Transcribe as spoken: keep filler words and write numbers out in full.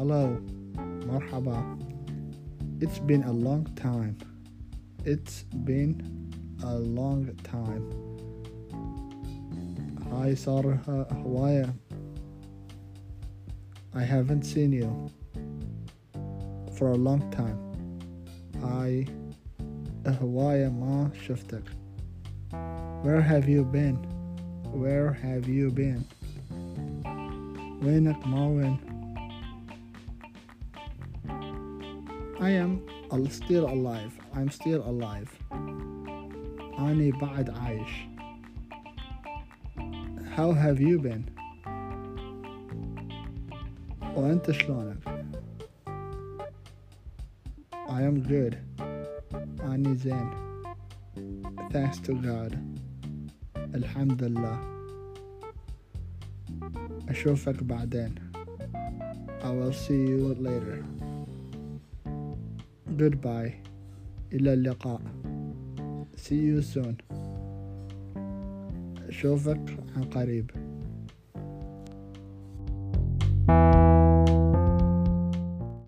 hello, مرحبا. It's been a long time. It's been a long time. هاي صار هواية. I haven't seen you for a long time. هاي هواية ما شفتك. Where have you been? Where have you been? وينك ما وين؟ I am still alive. I'm still alive. أني بعد عايش. How have you been? وأنت شلونك؟ I am good. أني زين. Thanks to God. الحمد لله. أشوفك بعدين. I will see you later. Goodbye. إلى اللقاء. See you soon. أشوفك عن قريب.